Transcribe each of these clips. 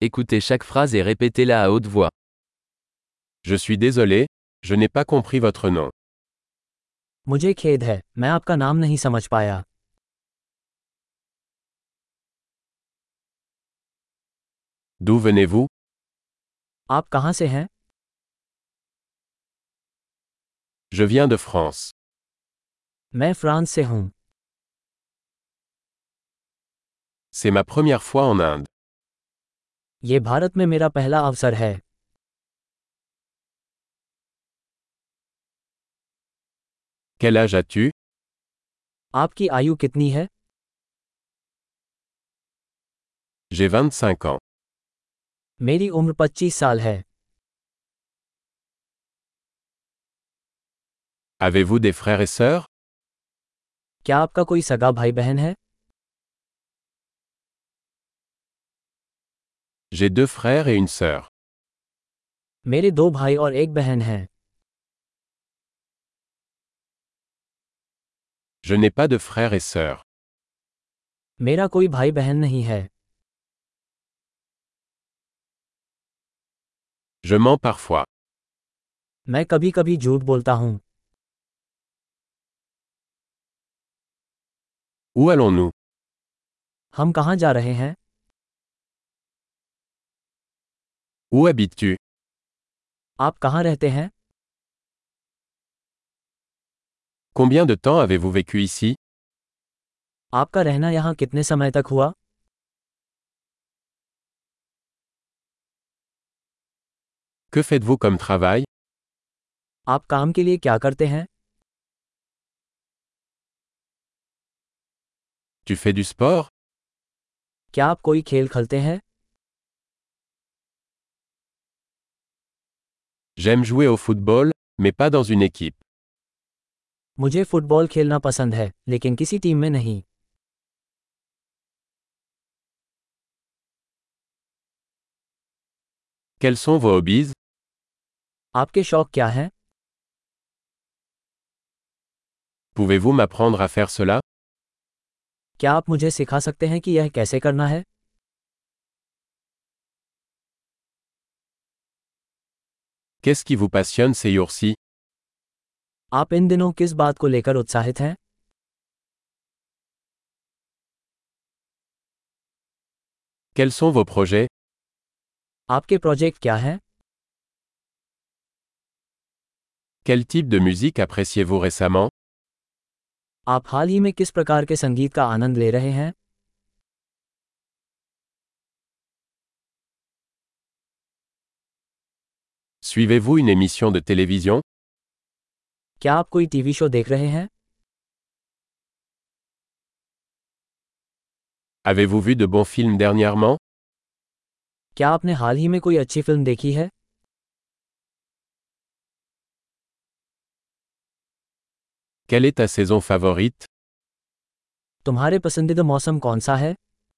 Écoutez chaque phrase et répétez-la à haute voix. Je suis désolé, je n'ai pas compris votre nom. मुझे खेद है, मैं आपका नाम नहीं समझ पाया। D'où venez-vous? आप कहाँ से हैं? Je viens de France. मैं फ्रांस से हूँ। C'est ma première fois en Inde. ये भारत में मेरा पहला अवसर है। Quel âge as-tu? आपकी आयु कितनी है? J'ai 25 ans. मेरी उम्र 25 साल है। Avez-vous des frères et sœurs? क्या आपका कोई सगा भाई बहन है? J'ai 2 frères et une sœur. मेरे 2 भाई और एक बहन हैं। Je n'ai pas de frères et sœurs. मेरा कोई भाई बहन नहीं है। Je mens parfois. मैं कभी-कभी झूठ बोलता हूँ। Où allons-nous? हम कहाँ जा रहे हैं? Où habites-tu? आप कहाँ रहते हैं? Combien de temps avez-vous vécu ici? आपका रहना यहाँ कितने समय तक हुआ? Que faites-vous comme travail? आप काम के लिए क्या करते हैं? Tu fais du sport? क्या आप कोई खेल खेलते हैं? J'aime jouer au football, mais pas dans une équipe. मुझे फुटबॉल खेलना पसंद है, लेकिन किसी टीम में नहीं। Quels sont vos hobbies? आपके शौक क्या हैं? Pouvez-vous m'apprendre à faire cela? क्या आप मुझे सिखा सकते हैं कि यह कैसे करना है? Qu'est-ce qui vous passionne ces jours-ci? आप इन दिनों किस बात को लेकर उत्साहित हैं? Quels sont vos projets? आपके प्रोजेक्ट क्या हैं? Quel type de musique appréciez-vous récemment? आप हाल ही में किस प्रकार के संगीत का आनंद ले रहे हैं? Suivez-vous une émission de télévision? क्या आप कोई टीवी शो देख रहे हैं? Avez-vous vu de bons films dernièrement? क्या आपने हाल ही में कोई अच्छी फिल्म देखी है? Quelle est ta saison favorite? तुम्हारे पसंदीदा मौसम कौन सा है?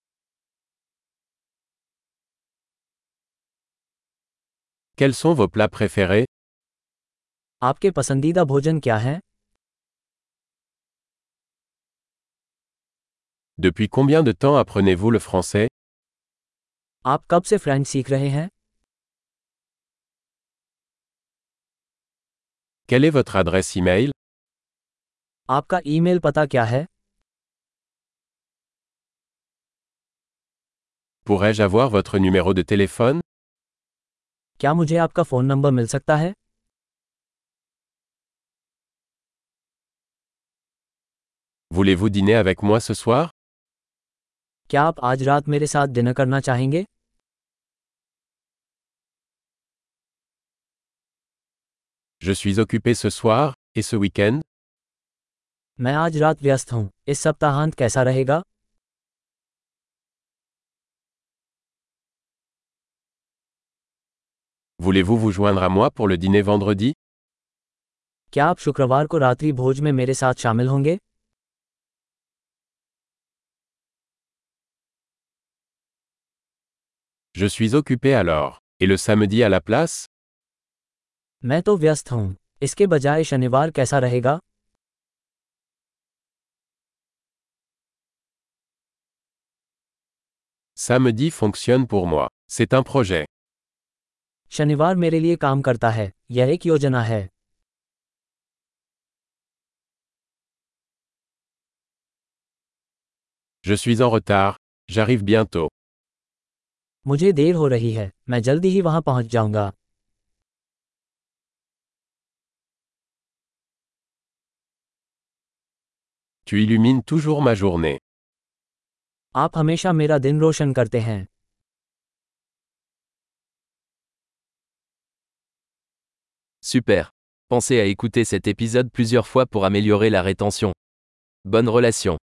Quels sont vos plats préférés? आपके पसंदीदा भोजन क्या हैं? Depuis combien de temps apprenez-vous le français? आप कब से फ्रेंच सीख रहे हैं? Quelle est votre adresse email? आपका ईमेल पता क्या है? Pourrais-je avoir votre numéro de téléphone? क्या मुझे आपका फ़ोन नंबर मिल सकता है? Voulez-vous dîner avec moi ce soir? क्या आप आज रात मेरे साथ डिनर करना चाहेंगे? Je suis occupé ce soir, et ce week-end? मैं आज रात व्यस्त हूँ, इस सप्ताहांत कैसा रहेगा? Voulez-vous vous joindre à moi pour le dîner vendredi? क्या आप शुक्रवार को रात्रि भोज में मेरे साथ शामिल होंगे? Je suis occupé alors. Et le samedi à la place? मैं तो व्यस्त हूँ, इसके बजाय शनिवार कैसा रहेगा? Samedi fonctionne pour moi. C'est un projet. शनिवार मेरे लिए काम करता है, यह एक योजना है। Je suis en retard, j'arrive bientôt. मुझे देर हो रही है, मैं जल्दी ही वहां पहुंच जाऊंगा। Tu illumines toujours ma journée. आप हमेशा मेरा दिन रोशन करते हैं। Super. Pensez à écouter cet épisode plusieurs fois pour améliorer la rétention. Bonne relation.